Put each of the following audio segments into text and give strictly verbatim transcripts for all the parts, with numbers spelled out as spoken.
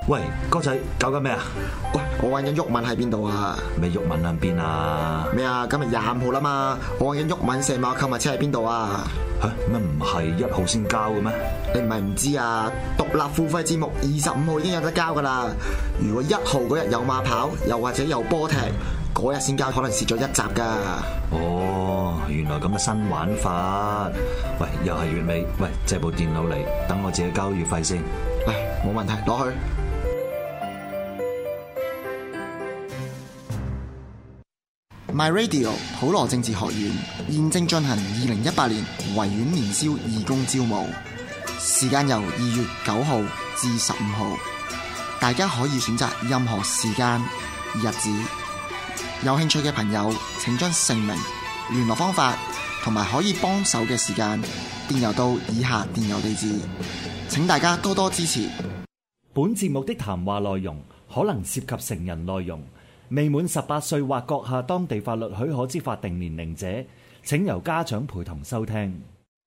喂，哥仔搞緊咩啊？ 喂，我揾緊毓民喺邊度啊？ 咩毓民喺邊啊？ 咩啊？今日廿五號啦嘛，我揾緊毓民射馬購物車喺邊度啊？ 吓，乜唔係一號先交嘅咩？ 你唔係唔知啊？獨立付費節目二十五號已經有得交噶啦。如果一號嗰日有馬跑，又或者有波踢，嗰日先交，可能蝕咗一集噶。 哦，原來咁嘅新玩法。喂，又係月尾，喂，借部電腦嚟，等我自己交月費先。 嚟，冇問題，攞去。My Radio 普羅政治學院現正進行二零一八年維園年宵義工招募，時間由二月九號至十五號，大家可以選擇任何時間、日子。有興趣嘅朋友，請將姓名、聯絡方法同埋可以幫手嘅時間電郵到以下電郵地址，請大家多多支持。 本節目的談話內容可能涉及成人內容。未滿十八歲或閣下當地法律許可之法定年齡者，請由家長陪同收聽。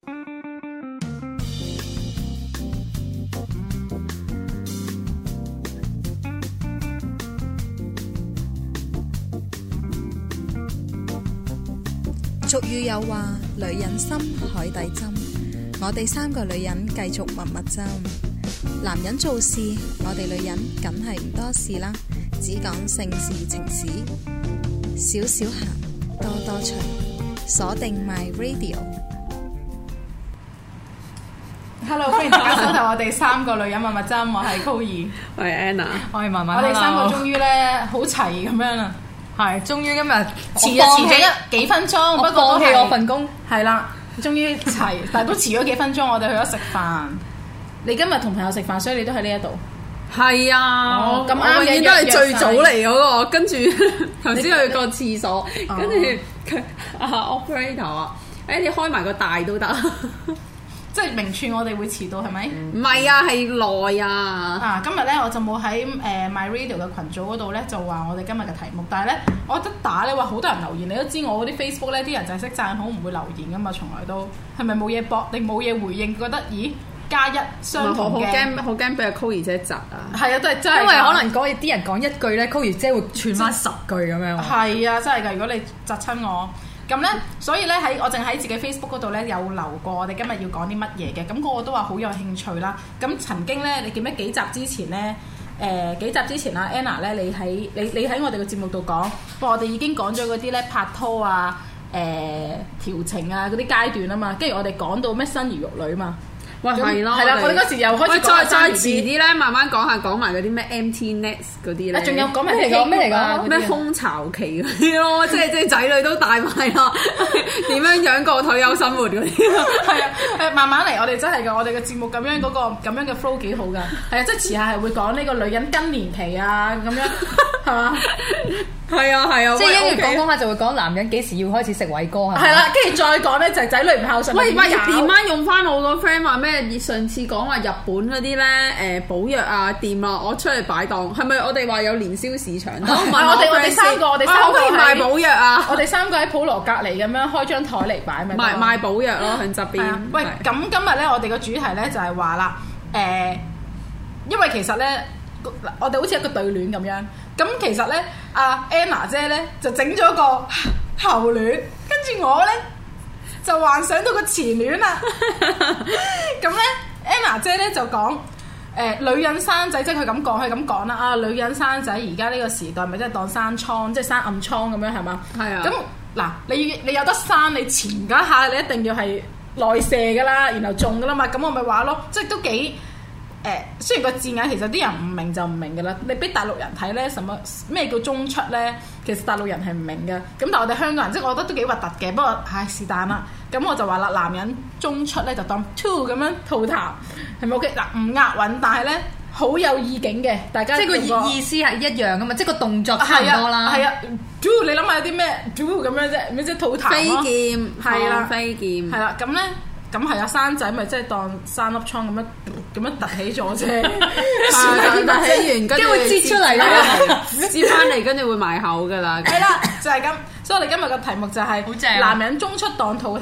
俗語有話：女人心，海底針。我哋三個女人繼續蜜蜜針。男人做事，我哋女人梗係唔多事啦。只講性事情史，少少鹹，多多趣。鎖定 My Radio。Hello， 歡迎大家收睇我哋三個女人蜜蜜針，我係 Chloe， 我係 Anna， 我係文文。我哋三個終於咧好齊咁樣啦，係終於今日遲就遲咗一幾分鐘，不過都係我份工係啦，終於齊，但係都遲咗幾分鐘，我哋去咗食飯。你今日同朋友食飯，所以你都喺呢一度。 係啊，咁啱嘅，都係最早嚟嗰個，跟住頭先去個廁所，跟住佢啊 operator 啊，誒你開埋個大都得， 即係明串我哋會遲到係咪？ 唔係啊，係耐啊。 啊，今日咧我就冇喺誒 My Radio 嘅群組嗰度咧，就話我哋今日嘅題目，但係咧我覺得打咧話好多人留言，你都知我嗰啲 Facebook 咧啲人就係識讚好，唔會留言噶嘛，從來都係咪冇嘢駁定冇嘢回應？覺得咦？加一相同嘅， 好驚好驚俾阿 Chloe 姐窒啊！ 係啊，都係真係， 因為可能講啲人講一句咧，Chloe 姐會傳翻十句咁樣。 係啊，真係㗎！如果你窒親我，咁咧，所以咧喺我淨喺自己 Facebook 嗰度咧有留過，我哋今日要講啲乜嘢嘅，咁個個都話好有興趣啦。咁曾經咧，你記唔記得幾集之前咧？誒、呃、幾集之前啊 ，Anna 咧，你喺你你喺我哋嘅節目度講，我哋已經講咗嗰啲咧拍拖啊、誒、呃、調情啊嗰啲階段啊嘛，跟住我哋講到咩生兒育女嘛。 喂，係咯， 係啦，我哋嗰時又開始再再遲啲咧，慢慢講下講埋嗰啲咩 empty nest 嗰啲咧， 仲有講咩嚟講咩嚟講咩空巢期嗰啲咯，即係即係仔女都大埋啦，點樣養個退休生活嗰啲， 係啊，誒慢慢嚟，我哋真係㗎，我哋嘅節目咁樣嗰個咁樣嘅 flow 幾好㗎，係啊，即係遲下係會講呢個女人更年期啊咁樣，係嘛？係啊係啊， 即係一講講下就會講男人幾時要開始食偉哥係咪？ 係啦，跟住再講咧就係仔女唔孝順。 喂，唔係連媽用翻我個 friend 話咩？上次講話日本嗰啲咧誒補藥啊店啊，我出嚟擺檔，係咪我哋話有年宵市場？ 唔係我哋我哋三個，我哋三個賣補藥啊！ 我哋三個喺普羅隔離咁樣開張台嚟擺咪。 賣賣補藥咯，喺側邊。 喂，咁今日咧我哋個主題咧就係話啦，誒，因為其實咧我哋好似一個對聯咁樣。咁其實咧，阿 Anna 姐咧就整咗個後戀，跟住我咧就幻想到個前戀啦。咁咧 ，Anna 姐咧就講，誒、呃、女人生仔，即係佢咁講，佢咁講啦。啊，女人生仔而家呢個時代咪即係當生瘡，即係生暗瘡咁樣係嘛？係啊。咁嗱，你你有得生，你前嗰下你一定要係內射噶啦，然後中噶啦嘛。咁我咪話咯，即係都幾。誒，雖然個字眼其實啲人唔明就唔明㗎啦，你俾大陸人睇咧，什麼咩叫中出咧？其實大陸人係唔明嘅。咁但係我哋香港人，即係我覺得都幾核突嘅。不過唉，是但啦。咁我就話啦，男人中出咧就當 two 咁樣吐痰，係咪 OK？嗱，唔押韻，但係咧好有意境嘅。大家即係個意思係一樣㗎嘛，即係個動作差唔多啦。 係啊 do 你諗下有啲咩 do 咁樣啫？咩即係吐痰咯？ 飛劍係啦， 飛劍係啦，咁咧。咁係啊，生仔咪即係當生粒瘡咁樣咁樣凸起咗啫， 凸起完跟住會擠出嚟啦， 擠翻嚟跟住會埋口噶啦。 係啦，就係咁。所以我哋今日嘅題目就係、是、男人中出當吐痰，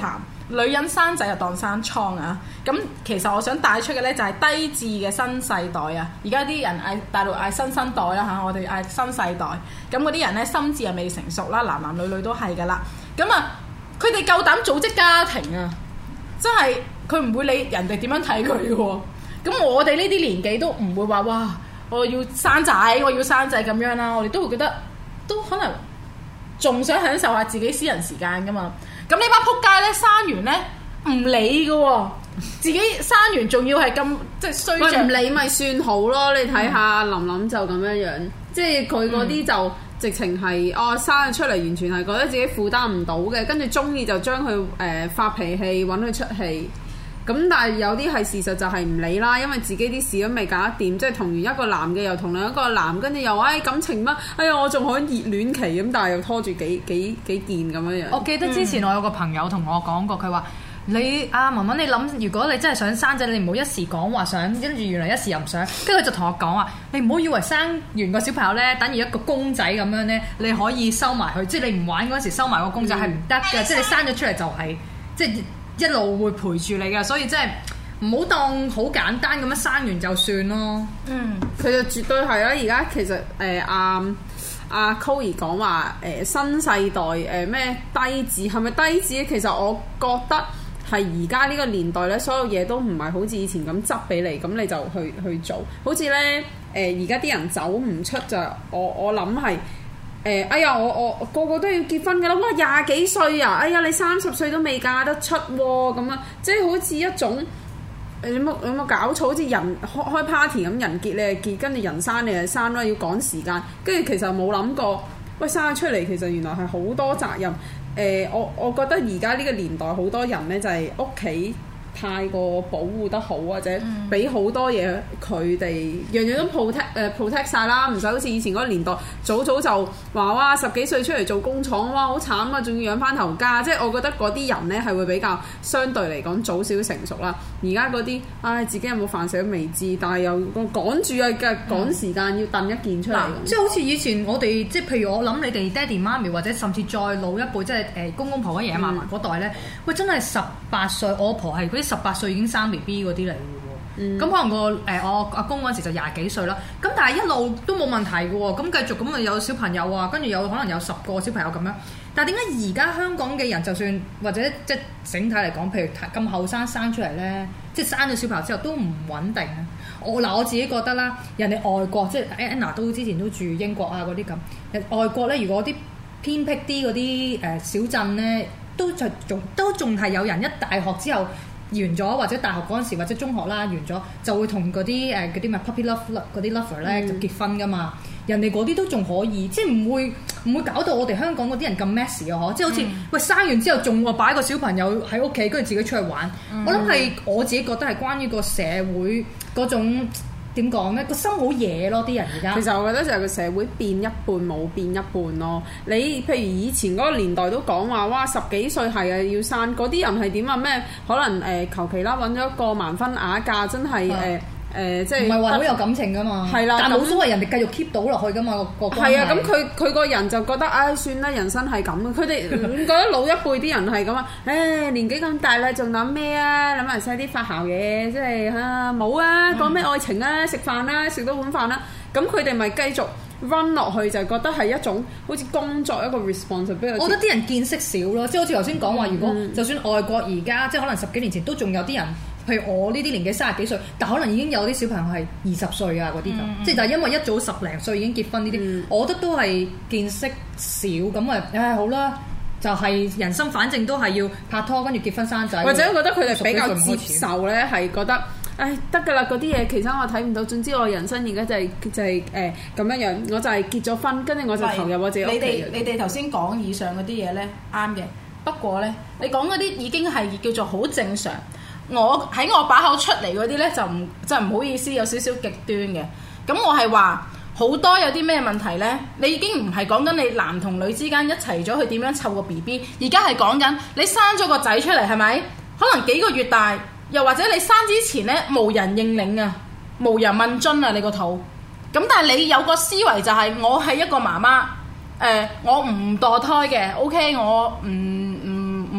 女人生仔就當生瘡啊！咁其實我想帶出嘅呢，就係低智嘅新世代啊！而家啲人嗌大陸嗌新生代啦嚇，我哋嗌新世代。咁嗰啲人呢，心智又未成熟啦，男男女女都係噶啦。咁啊，佢哋夠膽組織家庭啊！真係佢唔會理人哋點樣睇佢嘅喎。咁我哋呢啲年紀都唔會話哇，我要生仔，我要生仔咁樣啦。我哋都會覺得都可能仲想享受下自己私人時間噶嘛。咁呢班撲街咧，生完咧唔理嘅喎，自己生完仲要係咁即係衰著， 唔理咪算好咯。你睇下琳琳就咁樣樣，嗯、即係佢嗰啲就直情係哦生咗出嚟，完全係覺得自己負擔唔到嘅，跟住中意就將佢誒發脾氣揾佢出氣。咁但係有啲係事實就係唔理啦，因為自己啲事都未搞得掂，即係同完一個男嘅又同另一個男，跟住又話誒感情乜？哎呀我仲可以熱戀期咁，但係又拖住幾幾幾件咁樣樣。 我記得之前我有個朋友同我講過，佢話、嗯、你阿文文你諗，如果你真係想生仔，你唔好一時講話想，跟住原來一時又唔想，跟住佢就同我講話，你唔好以為生完個小朋友咧，等於一個公仔咁樣咧，你可以收埋佢，即係你唔玩嗰時收埋個公仔係唔得嘅，即係你生咗出嚟就係、是、即係。一路會陪住你嘅，所以真係唔好當好簡單咁樣生完就算咯。嗯， 佢就絕對係啦。而家其實誒阿阿 Chloe 講話誒新世代誒咩、呃、低智係咪低智咧？其實我覺得係而家呢個年代咧，所有嘢都唔係好似以前咁執俾你，咁你就去去做。好似咧誒而家啲人走唔出就我我諗係。誒，哎呀，我我個個都要結婚㗎啦！哇，廿幾歲啊！哎呀，你三十歲都未嫁得出喎，咁啊，即係好似一種誒有冇有冇搞錯？好似人開開 party 咁，人結你係結，跟住人生你係生啦，要趕時間，跟住其實冇諗過，喂生咗出嚟其實原來係好多責任。誒、呃，我我覺得而家呢個年代好多人咧就係屋企太過保護得好，或者俾好多嘢佢哋，樣樣都 protect 誒 protect 曬啦，唔使好似以前嗰個年代，早早就話哇十幾歲出嚟做工廠，哇好慘啊，仲要養翻頭家，即係我覺得嗰啲人呢係會比較相對嚟講早少成熟啦。而家嗰啲唉自己有冇飯食都未知，但係又趕住啊嘅趕時間要掟一件出嚟、嗯， 即係好似以前我哋即係譬如我諗你哋爹哋媽咪或者甚至再老一輩，即係誒公公婆婆爺爺嫲嫲嗰代呢，喂真係十八歲，我婆係嗰啲十八歲已經生 B B 嗰啲嚟嘅喎，咁、嗯、可能個誒、呃、我阿公嗰陣時就廿幾歲啦，咁但係一路都冇問題嘅喎，咁繼續咁啊有小朋友啊，跟住有可能有十個小朋友咁樣，但係點解而家香港嘅人就算或者即係整體嚟講，譬如咁後生生出嚟咧，即係生咗小朋友之後都唔穩定啊！我嗱我自己覺得啦，人哋外國即係 Anna 都之前都住英國啊嗰啲咁，外國咧如果啲偏僻啲嗰啲誒小鎮咧，都就仲都仲係有人一大學之後。完咗或者大學嗰陣時或者中學啦完咗就會同嗰啲誒嗰啲咩 puppy love 嗰啲 lover 咧就結婚噶嘛，人哋嗰啲都仲可以，即係唔會唔會搞到我哋香港嗰啲人咁 messy 啊！嗬，即係好似、嗯、喂生完之後仲話擺個小朋友喺屋企，跟住自己出去玩。嗯、我諗係我自己覺得係關於個社會嗰種點講咧，個心好野咯，啲人而家。其實我覺得就係個社會變一半冇變一半咯。你譬如以前嗰個年代都講話，哇十幾歲係啊要生，嗰啲人係點啊？咩可能誒求其啦揾咗一個盲婚啞嫁，真係誒。嗯誒、呃，即係唔係話好有感情噶嘛？係啦，但冇所謂，人哋繼續 keep 到落去噶嘛個個關係。係啊，咁佢佢個人就覺得，唉、哎，算啦，人生係咁。佢哋覺得老一輩啲人係咁啊，唉、哎，年紀咁大啦，仲諗咩啊？諗埋晒啲發姣嘢，即係嚇冇啊，講咩愛情啊，食飯啦，食多碗飯啦。咁佢哋咪繼續 run 落去，就覺得係一種好似工作一個 responsibility。我覺得啲人見識少咯，即係好似頭先講話，如果就算外國而家即係可能十幾年前都仲有啲人。譬如我呢啲年紀三十幾歲，但可能已經有啲小朋友係二十歲啊嗰啲咁，嗯、即係但係因為一早十零歲已經結婚呢啲，嗯、我覺得都係見識少咁啊！唉好啦，就係、是、人生反正都係要拍拖跟住結婚生仔，或者我覺得佢哋比較接受咧，係覺得唉得㗎啦嗰啲嘢，其實我睇唔到。總之我人生而家就係、是、就係誒咁樣樣，我就係結咗婚，跟住我就投入我自己屋企。你哋你哋頭先講以上嗰啲嘢咧啱嘅，不過咧你講嗰啲已經係叫做好正常。我喺我把口出嚟嗰啲呢，就唔就唔好意思，有少少極端嘅。咁我係話好多有啲咩問題呢？你已經唔係講緊你男同女之間一齊咗去點樣湊個 B B，而家係講緊你生咗個仔出嚟係咪？可能幾個月大，又或者你生之前呢，無人認領啊，無人問津啊，你個肚。咁但係你有個思維就係、是、我係一個媽媽，誒、呃、我唔墮胎嘅 ，OK， 我唔唔唔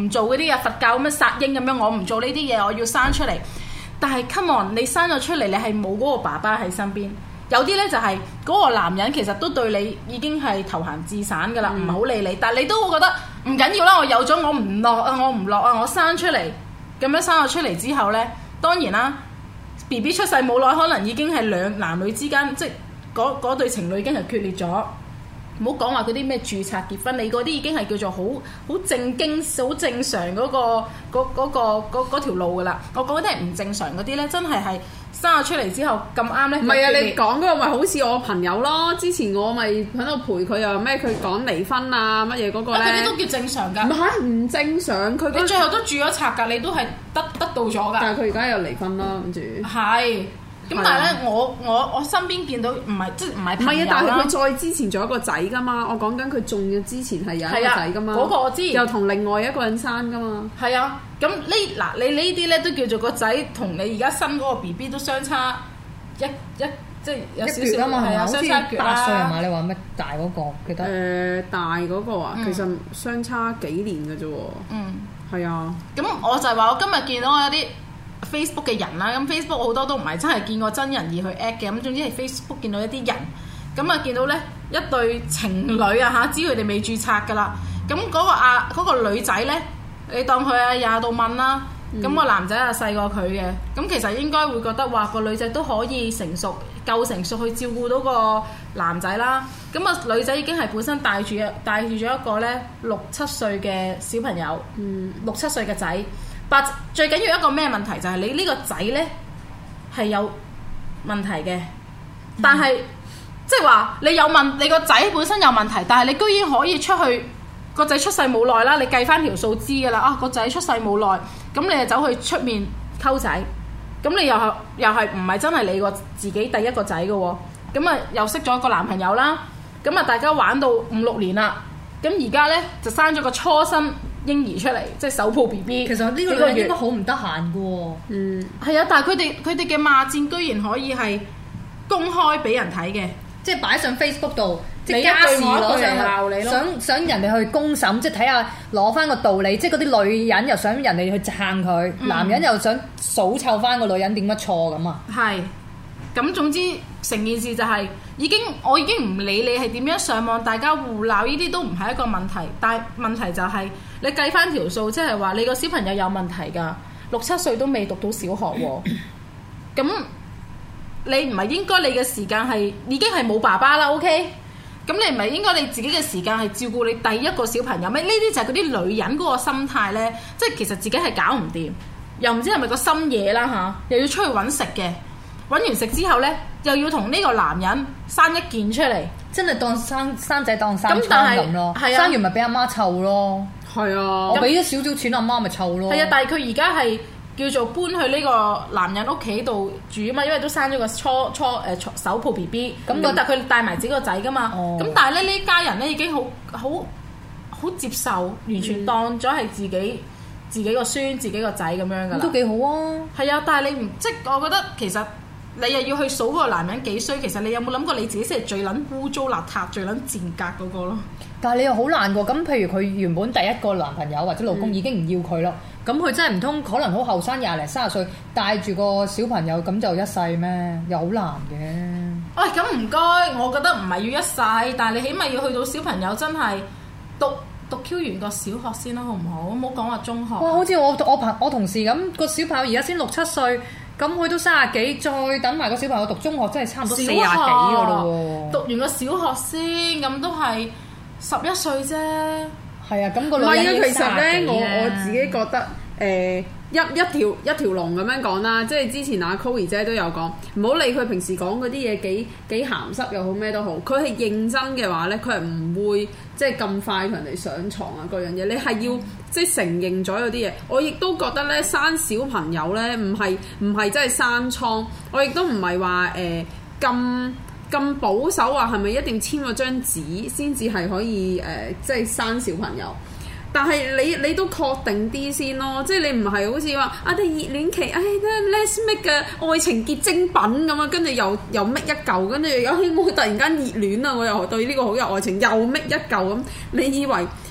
唔做嗰啲啊佛教咁樣殺嬰咁樣，我唔做呢啲嘢，我要生出嚟。但係 come on，你生咗出嚟，你係冇嗰個爸爸喺身邊。有啲咧就係、是、嗰個男人其實都對你已經係投閒自散㗎啦，唔係好理你。但係你都會覺得唔緊要啦，我有咗我唔落啊，我唔落啊，我生出嚟咁樣生咗出嚟之後咧，當然啦 ，B B 出世冇耐，可能已經係兩男女之間，即係嗰嗰對情侶已經係決裂咗。唔好講話嗰啲咩註冊結婚，你嗰啲已經係叫做好好正經、好正常嗰、嗰個嗰嗰、嗰個嗰條路㗎啦。我講嗰啲係唔正常嗰啲咧，真係係生咗出嚟之後咁啱咧。 唔係啊，你講嗰個咪好似我朋友咯。之前我咪喺度陪佢又咩？佢講離婚啊乜嘢嗰個咧？ 嗰啲都叫正常㗎。 唔係唔正常，佢你最後都住咗冊㗎，你都係得得到咗㗎。 但係佢而家又離婚啦，跟住係。咁但係咧，我我我身邊見到唔係即係唔係朋友啦。唔係啊，但係佢再之前仲有一個仔㗎嘛。我講緊佢中咗之前係有一個仔㗎嘛。 嗰、嗰個我知。 又同另外一個人生㗎嘛。 係啊，咁呢嗱你呢啲咧都叫做個仔同你而家生嗰個 B B 都相差一一即係有少少嘛，係啊， 相差一橛啦。 八歲係嘛？你話咩大嗰個記得？ 誒、呃、大嗰個啊， 嗯、 其實相差幾年㗎啫喎。嗯。係啊。 咁我就係話我今日見到有啲Facebook 嘅人啦，咁 Facebook 好多都唔係真係見過真人而去 at 嘅，咁總之係 Facebook 見到一啲人，咁啊見到咧一對情侶啊嚇，知佢哋未註冊㗎啦，咁嗰個啊嗰個女仔咧，你當佢啊廿度問啦，咁個男仔啊細過佢嘅，咁其實應該會覺得話個女仔都可以成熟夠成熟去照顧到個男仔啦，咁啊女仔已經係本身帶住帶住咗一個咧六七歲嘅小朋友，嗯、六七歲嘅仔。但最緊要一個咩問題就係、是、你呢個仔呢係有問題嘅，但係、嗯、即係話你有問你個仔本身有問題，但係你居然可以出去個仔出世冇耐啦，你計翻條數知㗎啦啊個仔出世冇耐，咁你就走去出面溝仔，咁你又係又係唔係真係你個自己第一個仔嘅喎？咁啊又識咗個男朋友啦，咁啊大家玩到五六年啦，咁而家呢就生咗個初生嬰兒出嚟，即係手抱 B B。 其實呢個女人應該好唔得閒嘅喎。嗯， 係啊，但係佢哋佢哋嘅罵戰居然可以係公開俾人睇嘅， 即係擺上 Facebook 度，即係家事攞上鬧你咯。 想想人哋去公審，即係睇下攞翻個道理。即係嗰啲女人又想人哋去撐佢，嗯、男人又想數臭翻個女人點乜錯咁啊。 係，咁總之成件事就係、是。已經我已經唔理你係點樣上網，大家互鬧呢啲都唔係一個問題。但係問題就係、是、你計翻條數，即係話你個小朋友有問題㗎，六七歲都未讀到小學喎。咁你唔係應該你嘅時間係已經係冇爸爸啦 ？OK？咁你唔係應該你自己嘅時間係照顧你第一個小朋友咩？呢啲就係嗰啲女人嗰個心態呢，即係其實自己係搞唔掂，又唔知係咪個心野啦嚇，又要出去揾食嘅。揾完食之後呢，又要同呢個男人生一件出嚟， 真係當生生仔當生瘡咁咯。 係啊， 生完咪俾阿媽湊咯。 係啊， 我俾咗少少錢阿媽咪湊咯。 係啊，但係佢而家係叫做搬去呢個男人屋企度住啊嘛，因為都生咗個初初誒、呃、手抱 B B。咁、嗯、但係佢帶埋自己個仔噶嘛。咁、哦、但係咧呢家人咧已經好好好接受，完全當咗係自己、嗯、自己個孫、自己個仔咁樣噶啦。 都幾好啊。係啊，但係你唔即係我覺得其實。你又要去數嗰個男人幾衰，其實你有冇諗過你自己先係最撚污糟邋遢、最撚賤格嗰個咯？ 但係你又好難過，咁譬如佢原本第一個男朋友或者老公已經唔要佢咯，咁佢、嗯、真係唔通可能好後生廿零三十歲帶住個小朋友咁就一世咩？又好難嘅。 喂、哎，咁唔該，我覺得唔係要一世，但係你起碼要去到小朋友真係讀讀 Q 完個小學先啦，好唔好？唔好講話中學。 哇！好似我我朋我同事咁，個小朋友而家先六七歲。咁佢都三十幾，再等埋個小朋友讀中學，真係差唔多四十幾噶咯喎！ 讀完個小學先，咁都係十一歲啫。 係啊，咁、那個女人要其實咧，我我自己覺得誒、呃、一一條一條龍咁樣講啦，即係之前阿 Chloe 姐都有講，唔好理佢平時講嗰啲嘢幾幾鹹濕又好咩都好，佢係認真嘅話咧，佢係唔會即係咁快同人哋上床啊嗰樣嘢，你係要。嗯即係承認咗有啲嘢，我亦都覺得咧生小朋友咧唔係唔係真係生瘡，我亦都唔係話誒咁咁保守話係咪一定簽咗張紙先至係可以誒、呃、即係生小朋友。但係你你都確定啲先咯，即係你唔係好似話啊啲熱戀期，唉，let's make 嘅愛情結晶品咁啊，跟住又又搣一嚿，跟住有希望突然間熱戀啊，我又對呢個好有愛情，又搣一嚿咁，你以為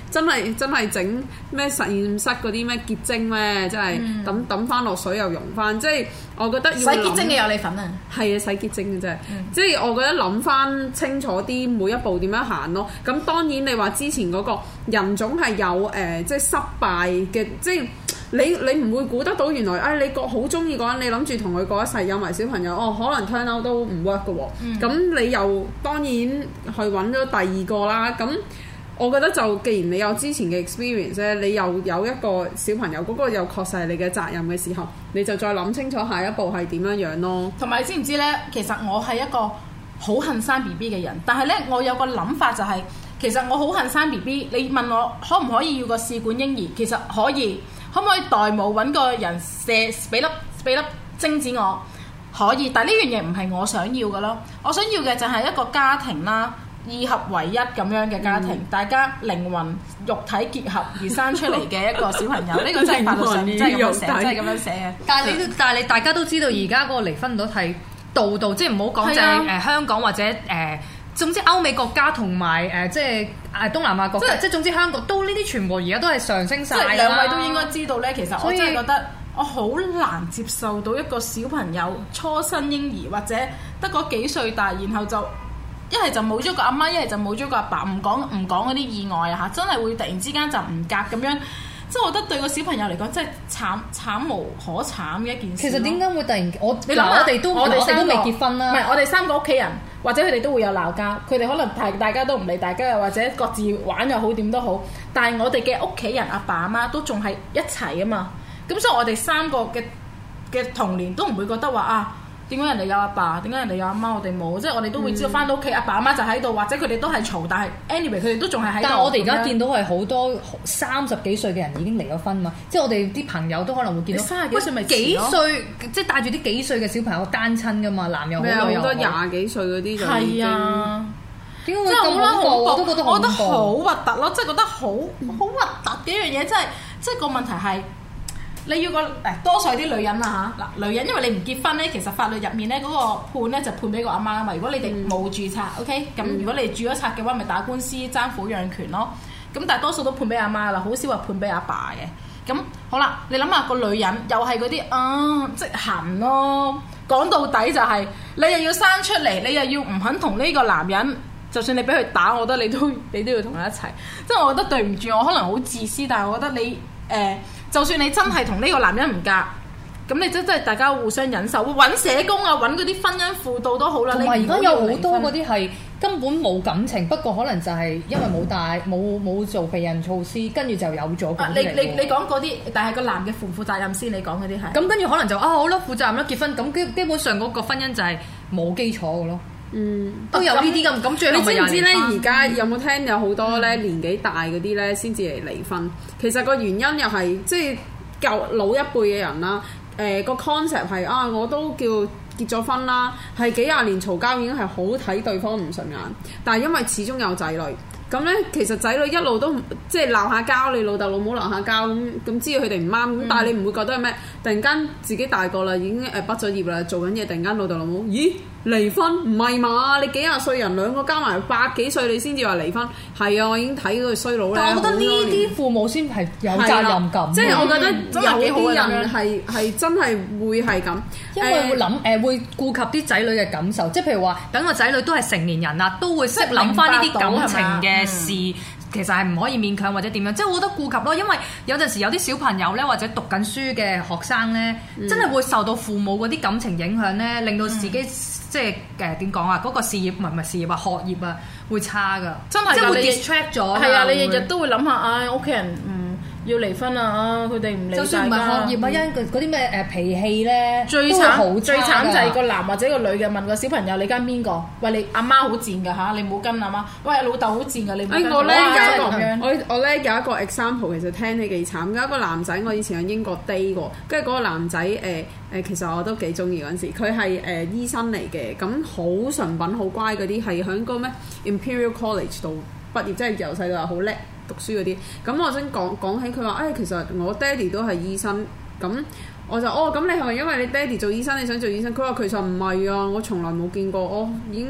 真係真係整咩實驗室嗰啲咩結晶咩，真係抌抌翻落水又溶翻，即係我覺得要洗結晶嘅有你份啊！ 係啊，洗潔精嘅啫， 嗯、 即係我覺得諗翻清楚啲每一步點樣行咯。咁當然你話之前嗰個人種係有誒、呃，即係失敗嘅，即係你你唔會估得到原來，哎你個好中意嗰個人，你諗住同佢過一世有埋小朋友，哦可能 turn out 都唔 work 嘅喎。咁、嗯、你又當然去揾咗第二個啦。咁我覺得就既然你有之前嘅 experience 咧，你又有一個小朋友，嗰、嗰個又確實係你嘅責任嘅時候，你就再諗清楚下一步係點樣樣咯。 同埋你知唔知呢？其實我係一個好恨生 B B 嘅人，但係呢，我有個諗法就係、是，其實我好恨生 B B。你問我可唔可以要個試管嬰兒？其實可以，可唔可以代母揾個人射俾粒俾粒精子我？可以，但係呢樣嘢唔係我想要嘅咯。我想要嘅就係一個家庭啦。二合為一咁樣嘅家庭，嗯、大家靈魂肉體結合而生出嚟嘅一個小朋友，呢個真係法律上真係咁樣寫，真係咁樣寫嘅。 但係你，但係你大家都知道，而家嗰個離婚率係度度，即係唔好講就係誒香港或者誒、呃，總之歐美國家同埋誒即係誒東南亞國家，即係總之香港都呢啲全部而家都係上升晒啦。即係兩位都應該知道咧，其實我真係覺得我好難接受到一個小朋友初生嬰兒或者得嗰幾歲大，然後就。一係就冇咗個阿媽，一係就冇咗個阿爸，唔講唔講嗰啲意外啊嚇，真係會突然之間就唔夾咁樣，即係我覺得對個小朋友嚟講真係慘慘無可慘嘅一件事。其實點解會突然我你諗下，我哋都我哋都未結婚啦，唔係我哋三個屋企人，或者佢哋都會有鬧交，佢哋可能大大家都唔理大家，又或者各自玩又好點都好，但係我哋嘅屋企人阿爸阿媽都仲係一齊啊嘛，咁所以我哋三個嘅嘅童年都唔會覺得話啊。點解人哋有阿爸？點解人哋有阿媽？我哋冇，即係我哋都會知道翻到屋企阿爸阿媽就喺度，或者佢哋都係嘈，但係 anyway 佢哋都仲係喺度。但係我哋而家見到係好多三十幾歲嘅人已經離咗婚嘛，即係我哋啲朋友都可能會見到三十幾歲咪幾歲，即係帶住啲幾歲嘅小朋友單親噶嘛，男又好女又好。好多廿幾歲嗰啲就係啊，點解會咁恐怖？我都覺得我覺得好核突咯，即係覺得好好核突嘅一樣嘢，即係即係個問題係。你要個誒多數啲女人啊嚇嗱，女人因為你唔結婚咧，其實法律入面咧嗰個判咧就判俾個阿媽啊嘛。如果你哋冇註冊、嗯、，OK，咁如果你哋註咗冊嘅話，咪打官司爭撫養權咯。咁但係多數都判俾阿媽啦，好少話判俾阿爸嘅。咁好啦，你諗下個女人又係嗰啲啊，即係痕咯。講到底就係、是、你又要生出嚟，你又要唔肯同呢個男人，就算你俾佢打，我覺得你都你都要同佢一齊。即係我覺得對唔住，我可能好自私，但係我覺得你誒。呃就算你真係同呢個男人唔夾，咁你真真係大家互相忍受，揾社工啊，揾嗰啲婚姻輔導都好啦。同埋而家有好多嗰啲係根本冇感情，不過可能就係因為冇帶冇冇做避孕措施，跟住就有咗嗰啲嚟。你你你講嗰啲，但係個男嘅負唔負責任先？你講嗰啲係。咁跟住可能就啊好啦，負責任啦，結婚咁基基本上嗰個婚姻就係冇基礎嘅咯。嗯，都有呢啲咁咁，最後你知唔知咧？而家有冇聽有好多咧年紀大嗰啲咧先至嚟離婚？其實個原因又係即係舊老一輩嘅人啦。誒、呃、個 concept 係啊，我都叫結咗婚啦，係幾廿年嘈交已經係好睇對方唔順眼，但係因為始終有仔女。咁咧，其實仔女一路都即係鬧下交，你老豆老母鬧下交咁，咁知道佢哋唔啱，咁、嗯、但係你唔會覺得係咩？突然間自己大個啦，已經誒畢咗業啦，做緊嘢，突然間老豆老母，咦離婚唔係嘛？你幾廿歲人兩個加埋百幾歲，你先至話離婚？係啊，我已經睇嗰個衰佬咧。但我覺得呢啲父母先係有責任感。即係、就是、我覺得有啲人係係真係會係咁，因為會諗誒、呃、會顧及啲仔女嘅感受，即係譬如話，等個仔女都係成年人啦，都會識諗翻呢啲感情嘅事。嗯、其實係唔可以勉強或者點樣，即係我覺得顧及咯，因為有陣時有啲小朋友咧，或者讀緊書嘅學生咧，嗯、真係會受到父母嗰啲感情影響咧，令到自己、嗯、即係誒點講啊，嗰、嗰個事業唔係唔係事業啊，學業啊會差㗎，真係即係會 distract 咗。係啊，你日日都會諗下，唉，屋企人嗯。要離婚啊！佢哋唔理，就算唔係學業啊，因嗰啲咩誒脾氣咧，最慘最慘就係個男或者個女嘅問個小朋友：你跟邊個？喂，你阿媽好賤㗎嚇，你唔好跟阿媽。喂，老豆好賤㗎，你唔好跟。誒我咧有我我咧有一個 example，其實聽起幾慘。有一個男仔，我以前喺英國 day 過，跟住嗰個男仔誒誒，其實我都幾中意嗰陣時。佢係誒醫生嚟嘅，咁好純品好乖嗰啲，係喺個咩 Imperial College 度畢業，即係由細到大好叻。讀書嗰啲，咁我想講講起佢話，誒、哎、其實我爹哋都係醫生，咁我就哦，咁你係咪因為你爹哋做醫生，你想做醫生？佢話其實唔係啊，我從來冇見過，我已經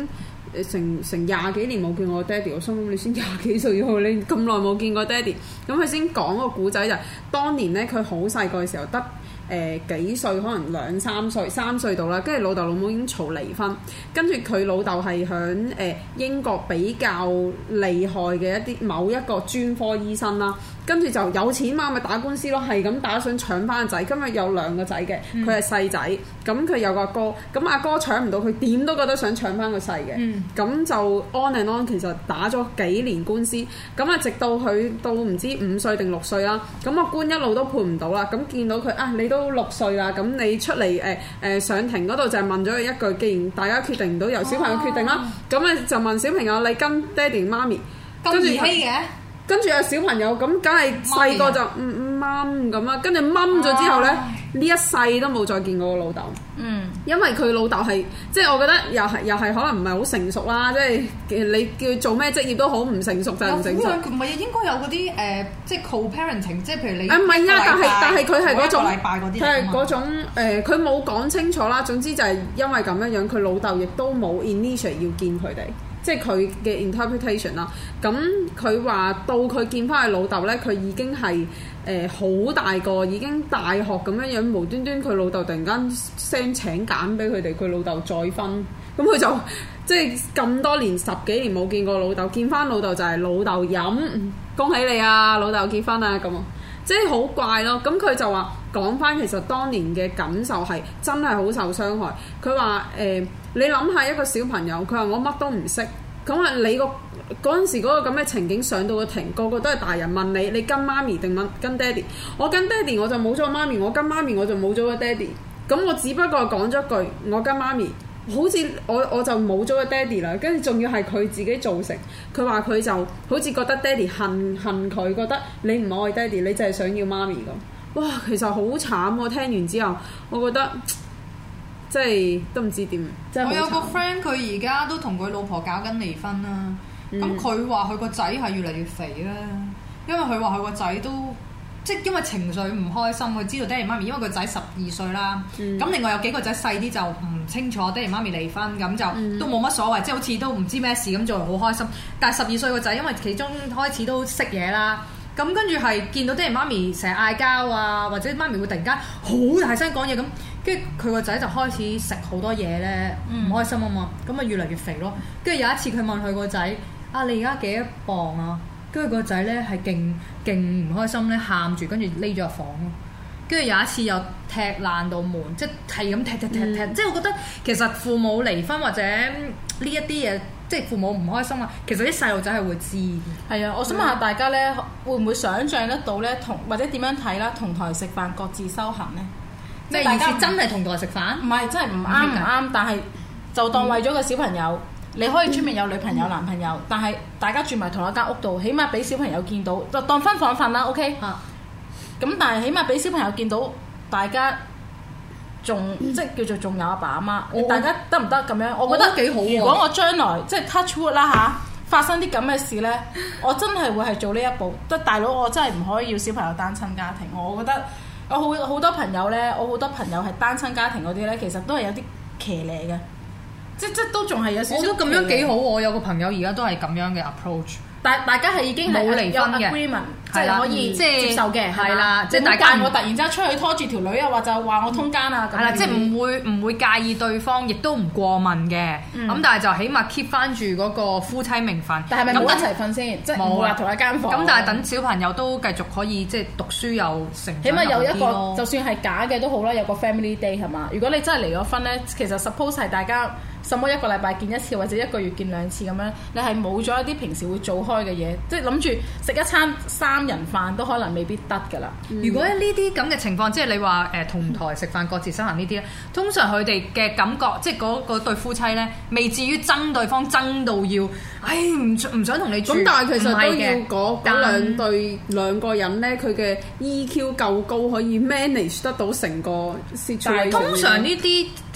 成成廿幾年冇見過我爹哋，我心諗你先廿幾歲喎，你咁耐冇見過爹哋，咁佢先講個古仔就係、當年咧佢好細個嘅時候得誒、呃、幾歲，可能兩三歲三歲到啦，跟住老豆老母已經嘈離婚，跟住佢老豆係響誒英國比較厲害嘅一啲某一個專科醫生啦。跟住就有錢嘛，咪打官司咯，係咁打想搶翻個仔。今日有兩個仔嘅，佢係細仔，咁佢有個阿哥，咁阿哥搶唔到，佢點都覺得想搶翻個細嘅。咁、嗯、就 on and on，其實打咗幾年官司，咁啊直到佢到唔知五歲定六歲啦，咁個官一路都判唔到啦。咁見到佢啊，你都六歲啦，咁你出嚟誒誒上庭嗰度就係問咗佢一句，既然大家決定唔到，由小朋友決定啦，咁咧、哦、就問小朋友你跟爹哋媽咪， 咁兒戲嘅。 跟住有小朋友咁，梗係細個就嗯掹咁啦。跟住掹咗之後咧，呢唉一世都冇再見過個老豆。嗯，因為佢老豆係即係我覺得又係又係可能唔係好成熟啦。即係你叫佢做咩職業都好唔成熟就係唔成熟。 唔係應該有嗰啲誒，即係 co-parenting， 即係譬如你誒唔係啊，但係但係佢係嗰種禮拜嗰啲， 佢係嗰種誒，佢冇講清楚啦。總之就係因為咁樣樣，佢老豆亦都冇 initiate 要見佢哋。即係佢嘅 interpretation 啦，咁佢話到佢見翻佢老豆咧，佢已經係誒好大個，已經大學咁樣樣，無端端佢老豆突然間 send 請柬俾佢哋，佢老豆再婚，咁佢就即係咁多年十幾年冇見過老豆，見翻老豆就係老豆飲，恭喜你啊，老豆結婚啊咁啊，即係好怪咯。咁佢就話講翻其實當年嘅感受係真係好受傷害。佢話誒。你諗下一個小朋友，佢話我乜都唔識，咁啊你個嗰陣時嗰個咁嘅情景上到個庭，個個都係大人問你，你跟媽咪定問跟爹哋？我跟爹哋我就冇咗個媽咪，我跟媽咪我就冇咗個爹哋。咁我只不過講咗句我跟媽咪，好似我我就冇咗個爹哋啦。跟住仲要係佢自己造成，佢話佢就好似覺得爹哋恨恨佢，覺得你唔愛爹哋，你就係想要媽咪咁。哇，其實好慘喎！聽完之後，我覺得。即係都唔知點， 我有個 friend 佢而家都同佢老婆搞緊離婚啦。咁佢話佢個仔係越嚟越肥啦，因為佢話佢個仔都即係因為情緒唔開心，佢知道爹哋媽咪，因為個仔十二歲啦。咁、嗯、另外有幾個仔細啲就唔清楚爹哋媽咪離婚，咁就都冇乜所謂，即係好似都唔知咩事咁做，好開心。但係十二歲個仔因為其中開始都識嘢啦。咁跟住係見到爹哋媽咪成日嗌交啊，或者媽咪會突然間好大聲講嘢咁，跟住佢個仔就開始食好多嘢咧，唔、嗯、開心啊嘛，咁啊越嚟越肥咯。跟住有一次佢問佢個仔：啊，你而家幾多磅啊？跟住個仔咧係勁勁唔開心咧，喊住跟住匿咗入房咯。跟住有一次又踢爛到門，即係咁踢踢踢踢，嗯、即係我覺得其實父母離婚或者呢一啲嘢。即係父母唔開心啊！其實啲細路仔係會知嘅。 係啊，我想問下大家咧，會唔會想像得到咧？同或者點樣睇啦？同台食飯各自修行咧？ 咩意思？真係同台食飯？ 唔係，真係唔啱唔啱。但係就當為咗個小朋友，嗯、你可以出面有女朋友、嗯、男朋友，但係大家住埋同一間屋度，起碼俾小朋友見到，就當分房瞓啦。OK。啊。咁但係起碼俾小朋友見到大家。仲即係叫做仲有阿爸阿媽，哦、大家得唔得咁樣？我覺得幾好。如果我將來即係 touch wood 啦嚇，發生啲咁嘅事咧，我真係會係做呢一步。即係大佬，我真係唔可以要小朋友單親家庭。我覺得我好好多朋友咧，我好多朋友係單親家庭嗰啲咧，其實都係有啲騎呢嘅，即即都仲係有少少。我覺得咁樣幾好。我有個朋友而家都係咁樣嘅 approach。但大家係已經冇離婚嘅 agreement，即係可以即係接受嘅，係啦。即係大家我突然之間出去拖住條女啊，或者話我通姦啊， 係啦，即係唔會唔會介意對方，亦都唔過問嘅。咁但係就起碼 keep 翻住嗰個夫妻名分。 但係咪冇一齊瞓先？即係冇話同一間房。 咁但係等小朋友都繼續可以即係讀書又成長， 起碼有一個，就算係假嘅都好啦，有個 family day 係嘛？如果你真係離咗婚咧，其實 suppose 係大家。什麼一個禮拜見一次或者一個月見兩次咁樣，你係冇咗一啲平時會做開嘅嘢，即係諗住食一餐三人飯都可能未必得㗎啦。 嗯、如果呢啲咁嘅情況，即係你話誒同台食飯各自修行呢啲咧，通常佢哋嘅感覺，即係嗰嗰對夫妻咧，未至於憎對方憎到要，唉唔唔想同你住。 咁但係其實都要嗰嗰兩對兩個人咧，佢嘅 E Q 夠高，可以 manage 得到成個 situation。 通常呢啲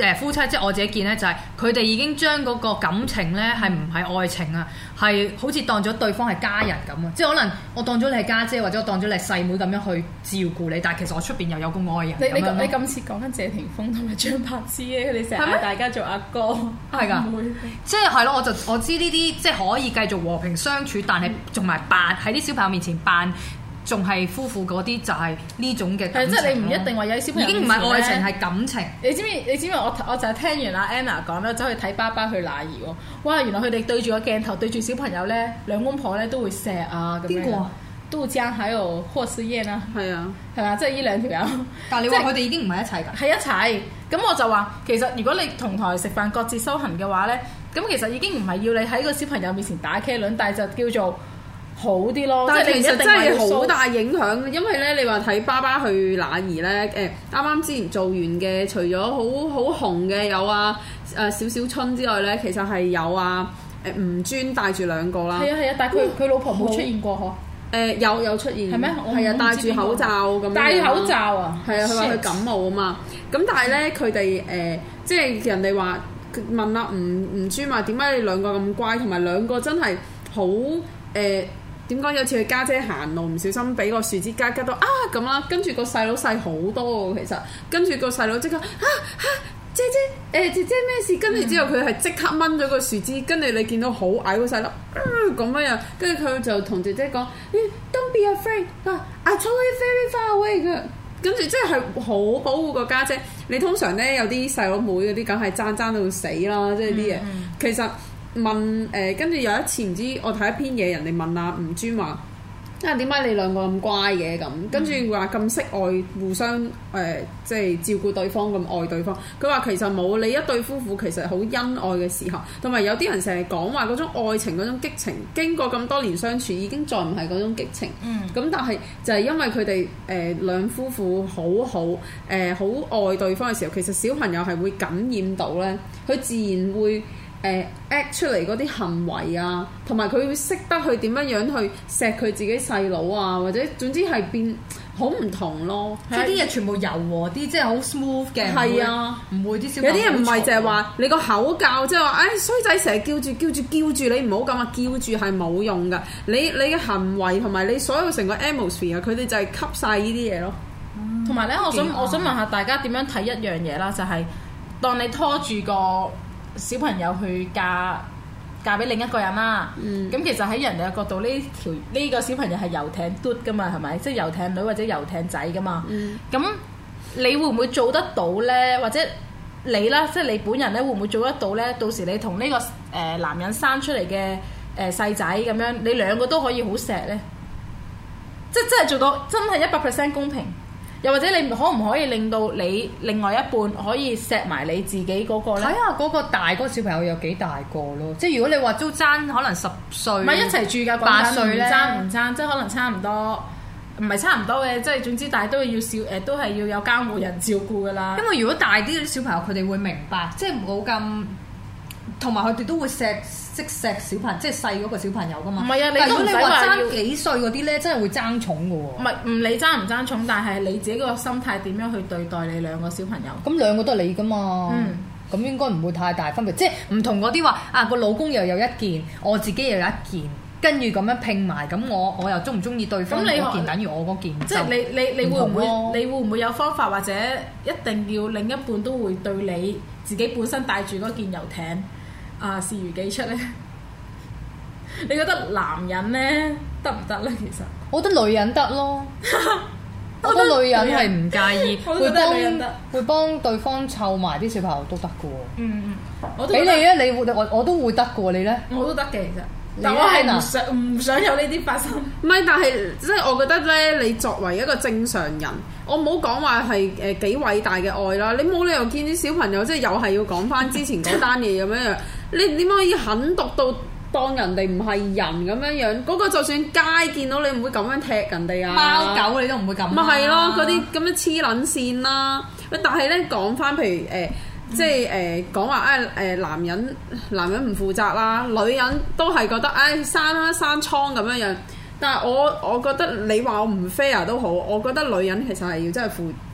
誒夫妻，即係我自己見咧，就係佢哋已經將嗰個感情咧係唔係愛情啊，係好似當咗對方係家人咁啊！即係可能我當咗你係家姐，或者我當咗你係細妹咁樣去照顧你，但係其實我出邊又有個愛人。 你你咁樣咯你今次講緊謝霆鋒同埋張柏芝嘅，佢哋成日係咩嗌大家做阿哥， 係㗎唔會即係係咯，我就我知呢啲即係可以繼續和平相處，但係仲埋扮喺啲小朋友面前扮仲係夫婦嗰啲，就係呢種嘅感情係即係你唔一定話有啲小朋友已經唔係愛情面前呢係感情。 你知唔知？你知唔知我我就係聽完阿 Anna 講啦，走去睇爸爸去哪兒喎？哇！原來佢哋對住個鏡頭對住小朋友咧，兩公婆咧都會錫啊咁樣。 邊個啊？ 杜江還有霍思燕啊， 係啊， 係嘛？即係呢兩條友。 但係你話佢哋已經唔係一齊㗎。 係一齊，咁我就話其實如果你同台食飯各自修行嘅話咧，咁其實已經唔係要你喺個小朋友面前打茄輪，但係就叫做好啲咯。 但係其實真係好大。 大影響，因為咧你話睇爸爸去哪兒咧，誒啱啱之前做完嘅，除咗好好紅嘅有啊誒小小春之外咧，其實係有啊誒吳尊帶住兩個啦。 係啊係啊，但係佢佢老婆冇出現過嗬。 誒有有出現係咩？ 係啊，戴住口罩咁樣。 戴口罩啊！ 係啊，佢話佢感冒啊嘛。咁但係咧，佢哋誒即係人哋話問阿吳吳尊話點解你兩個咁乖，同埋兩個真係好誒點講？有次佢家姐行路唔小心俾個樹枝拮拮到啊咁啦，跟住個細佬細好多喎，其實跟住個細佬即刻啊啊！姐姐，誒、呃、姐姐咩事？跟住之後佢係即刻掹咗個樹枝，跟住你見到好矮個細粒，咁樣樣，跟住佢就同姐姐講、嗯、：Don't be afraid，啊，I told you very far away 嘅。跟住即係好保護個家姐。你通常咧有啲細佬妹嗰啲，梗係爭爭到死啦，即係啲嘢。 嗯、 其實問誒，跟、呃、住有一次唔知我睇一篇嘢，人哋問阿吳尊話。啊點解你兩個咁乖嘅咁？跟住話咁識愛，互相誒、呃、即係照顧對方咁愛對方。佢話其實冇，你一對夫婦其實好恩愛嘅時候，同埋有啲人成日講話嗰種愛情嗰種激情，經過咁多年相處已經再唔係嗰種激情。嗯。咁但係就係因為佢哋誒兩夫婦好好誒好愛對方嘅時候，其實小朋友係會感染到咧，佢自然會。誒 act 出嚟嗰啲行為啊，同埋佢會識得去點樣樣去錫佢自己細佬啊，或者總之係變好唔同咯。 即係啲嘢全部柔和啲，即係好 smooth 嘅。 係啊， 唔會啲小有啲人唔係淨係話你個口教，即係話唉衰仔成日叫住叫住叫住你唔好咁啊，叫住係冇用噶。你你嘅行為同埋你所有成個 atmosphere，佢哋就係吸晒呢啲嘢咯。 同埋咧，我想我想問下大家點樣睇一樣嘢啦，就係、是、當你拖住個小朋友去嫁嫁俾另一個人啦，咁、嗯、其實喺人哋嘅角度，呢條呢個小朋友係遊艇嘟噶嘛，係咪？即係遊艇女或者遊艇仔噶嘛。咁、嗯、你會唔會做得到呢？或者你啦，即係你本人咧，會唔會做得到呢？到時你同呢、這個誒、呃、男人生出嚟嘅誒細仔咁樣，你兩個都可以好錫呢？即係真係做到真係一百 percent 公平。又或者你可唔可以令到你另外一半可以錫埋你自己嗰個咧？ 睇下嗰個大嗰個小朋友有幾大個咯。即係如果你話都爭可能十歲， 唔係一齊住㗎， 八歲咧， 唔爭唔爭，即係可能差唔多，唔係差唔多嘅，即係總之，但係都要少誒，都係要有監護人照顧㗎啦。 因為如果大啲啲小朋友，佢哋會明白，即係冇咁，同埋佢哋都會錫。識錫小朋友，即係細嗰個小朋友噶嘛。唔係啊，你都唔使話爭幾歲嗰啲咧，真係會爭寵嘅喎。 唔係唔理爭唔爭寵，但係你自己個心態點樣去對待你兩個小朋友？ 咁兩個都係你噶嘛。嗯。咁應該唔會太大分別，即係唔同嗰啲話啊個老公又有一件，我自己又有一件，跟住咁樣拼埋，咁我我又中唔中意對方嗰件，等於我嗰件。 即係你你你會唔會你會唔會有方法或者一定要另一半都會對你自己本身帶住嗰件遊艇？啊，視如己出咧？你覺得男人咧得唔得咧？其實我覺得女人得咯，我覺得女人係唔介意，會幫會幫對方湊埋啲小朋友都得嘅喎。嗯嗯，我俾你咧，你會我我都會得嘅喎，你咧？ 我都得嘅，其實。但我係唔想唔想有呢啲發生。 唔係，但係即係我覺得咧，你作為一個正常人，我唔好講話係誒幾偉大嘅愛啦。你冇理由見啲小朋友即係又係要講翻之前嗰單嘢咁樣樣。你點可以狠毒到當人哋唔係人咁樣樣？嗰個就算街見到你唔會咁樣踢人哋啊！ 貓狗你都唔會咁。 咪係咯，嗰啲咁樣黐撚線啦。但係咧講翻，譬如誒。呃即係誒講話誒誒男人男人唔負責啦，女人都係覺得誒生啦生瘡咁樣樣。但係我我覺得你話我唔 fair 都好，我覺得女人其實係要真係負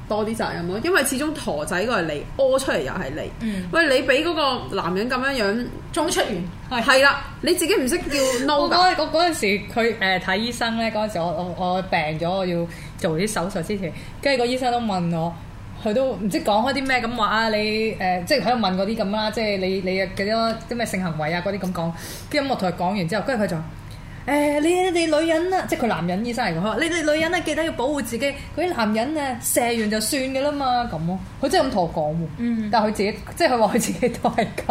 多啲責任咯，因為始終陀仔個係你，屙出嚟又係你。嗯、喂，你俾嗰個男人咁樣樣中出完， 係啦，你自己唔識叫 no 我嗰我嗰陣時佢誒睇醫生咧，嗰陣時我我我病咗，我要做啲手術之前，跟住個醫生都問我。佢都唔知講開啲咩咁話啊！你誒、呃、即係喺度問嗰啲咁啦，即係你你嘅幾多啲咩性行為啊嗰啲咁講，跟住我同佢講完之後，跟住佢就誒、呃、你你哋女人啊，即係佢男人醫生嚟嘅，佢話你哋女人啊記得要保護自己，嗰啲男人啊射完就算嘅啦嘛咁咯，佢真係咁同我講喎。嗯，但係佢自己即係佢話佢自己都係咁，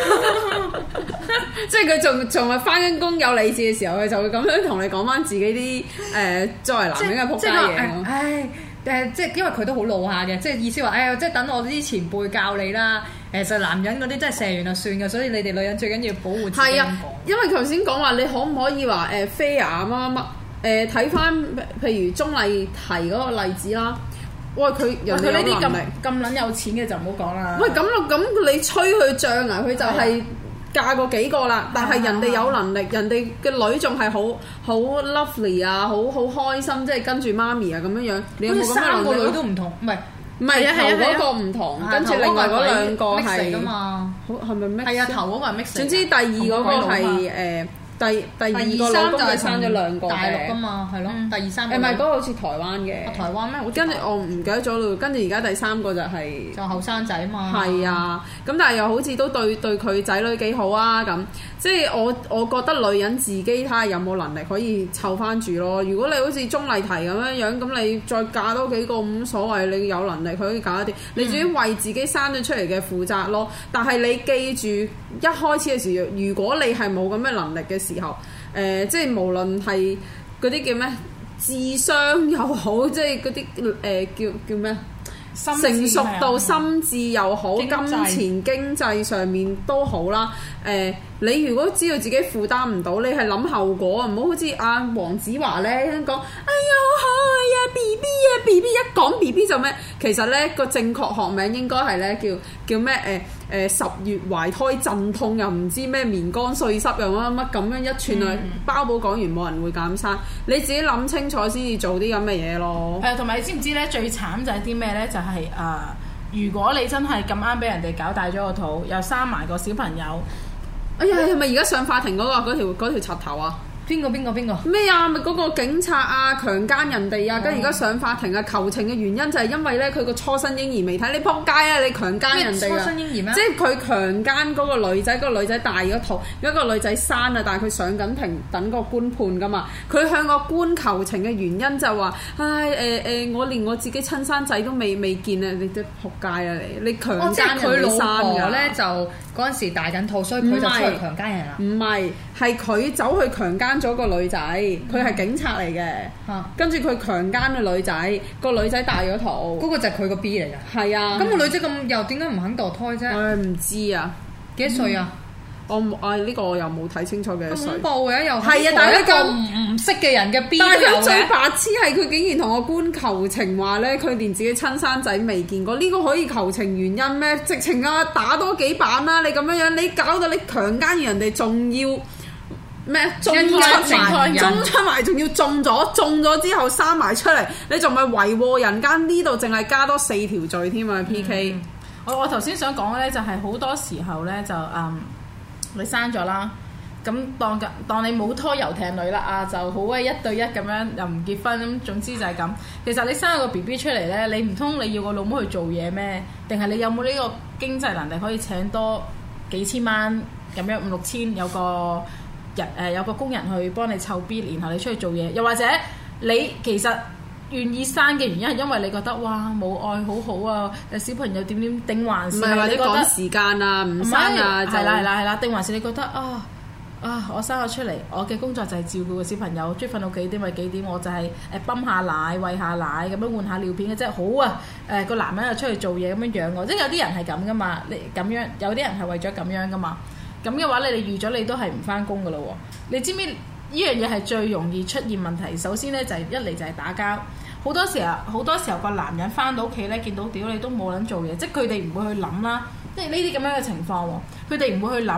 即係佢仲仲係翻緊工有理智嘅時候，佢就會咁樣同你講翻自己啲誒、呃、作為男人嘅仆街嘢。 唉。誒即係因為佢都好老下嘅，即係意思話，誒、哎、即係等我啲前輩教你啦。誒就男人嗰啲真係射完就算嘅，所以你哋女人最緊要保護自己。係啊， 因為頭先講話你可唔可以話誒 fair 乜乜乜誒睇翻譬如鍾麗緹嗰個例子啦。喂，佢人哋有能力咁撚有錢嘅就唔好講啦。 喂，咁咯咁你吹佢脹啊？佢就係、是。嫁過幾個啦，但係人哋有能力，啊、人哋嘅女仲係好好 lovely 啊，好好開心，即係跟住媽咪啊咁樣樣。你有冇三個女都唔同？唔係唔係頭嗰個唔同，跟住另外嗰兩個係 mix 嚟㗎嘛？ 好係咪 mix？ 係啊，頭嗰個係 mix。 總之第二嗰個係誒。第第二個老公就生咗兩個大陸㗎嘛，係咯。第二三個誒唔係嗰個好似台灣嘅。 台灣咩？ 跟住我唔記得咗咯。跟住而家第三個就係就後生仔嘛。 係啊，咁但係又好似都對對佢仔女幾好啊咁。即係我我覺得女人自己睇下有冇能力可以湊翻住咯。如果你好似鐘麗緹咁樣樣，咁你再嫁多幾個冇所謂，你有能力可以嫁一啲。你自己為自己生咗出嚟嘅負責咯。但係你記住，一開始嘅時候，如果你係冇咁嘅能力嘅時候，誒、呃，即係無論係嗰啲叫咩智商又好，即係嗰啲誒叫叫咩成熟到心智又好，金錢經濟上面都好啦。誒、呃，你如果知道自己負擔唔到，你係諗後果啊，唔好好似阿黃子華咧講，哎呀好可愛啊 B B 啊 B B， 一講 B B 就咩？其實咧個正確學名應該係咧叫叫咩誒？誒、呃、十月懷胎陣痛又唔知咩棉乾碎濕又乜乜咁樣一串啊！嗯、包保講完冇人會減生，你自己諗清楚先至做啲咁嘅嘢咯。 係啊，同埋你知唔知咧？最慘就係啲咩咧？就係、是、誒、呃，如果你真係咁啱俾人哋搞大咗個肚，又生埋個小朋友， 哎呀，係咪而家上法庭嗰、那個嗰條嗰條插頭啊？ 邊個邊個邊個咩啊？咪嗰個警察啊，強姦人哋啊，跟住而家上法庭啊，求情嘅原因就係因為咧佢個初生嬰兒未睇，你仆街啊！你強姦人哋啊！ 初生嬰兒咩？ 即係佢強姦嗰個女仔，嗰、嗰個女仔大咗肚，有一個女仔生啊，但係佢上緊庭等個官判噶嘛。佢向個官求情嘅原因就係話：唉誒誒、呃呃，我連我自己親生仔都未未見啊！你都仆街啊你！你強姦人哋生㗎咧就嗰陣時大緊肚，所以佢就出去強姦人啦。 唔係，係佢走去強姦咗個女仔，佢係警察嚟嘅。 嗯、 跟住佢強姦個女仔，個女仔大咗肚。 嗰個就係佢個 B 嚟㗎。 係啊。 咁個女仔咁又點解唔肯墮胎啫？ 唉，唔知啊。 幾多歲啊？ 嗯我啊呢、呢個我又冇睇清楚幾多歲。 恐怖嘅又係啊！但係一個唔唔識嘅人嘅 B 都有嘅。 但係佢最白痴係佢竟然同個官求情話咧，佢連自己親生仔未見過。呢、呢個可以求情原因咩？直情啊打多幾板啦！你咁樣樣，你搞到你強姦完人哋，仲要咩？中出埋，中出埋，仲要中咗，中咗之後生埋出嚟，你仲咪為禍人間？呢度淨係加多四條罪添啊 ！P K，、嗯、 我我頭先想講嘅咧，就係好多時候咧就嗯。你生咗啦，咁當嘅當你冇拖遊艇女啦啊，就好鬼一對一咁樣又唔結婚咁，總之就係咁。其實你生咗個 B B 出嚟咧，你唔通你要個老母去做嘢咩？定係你有冇呢個經濟能力可以請多幾千蚊咁樣五六千有個人誒、呃、有個工人去幫你湊 B， 然後你出去做嘢，又或者你其實願意生嘅原因係因為你覺得哇冇愛好好啊，小朋友點點定還是係你覺得時間啊唔生啊， 係啦係啦係啦，定還是你覺得啊啊我生咗出嚟，我嘅工作就係照顧個小朋友，中意瞓到幾點咪幾點，我就係誒泵下奶餵下奶咁樣換下尿片嘅啫，好啊誒個、呃、男人又出去做嘢咁樣養我，即係有啲人係咁噶嘛，你咁樣有啲人係為咗咁樣噶嘛，咁嘅話你哋預咗你都係唔翻工噶咯喎，你知唔知呢樣嘢係最容易出現問題？首先咧就係、是、一嚟就係打交。好多時候，好多時候個男人翻到屋企咧，見到屌你都冇撚做嘢，即係佢哋唔會去諗啦。即係呢啲咁樣嘅情況喎，佢哋唔會去諗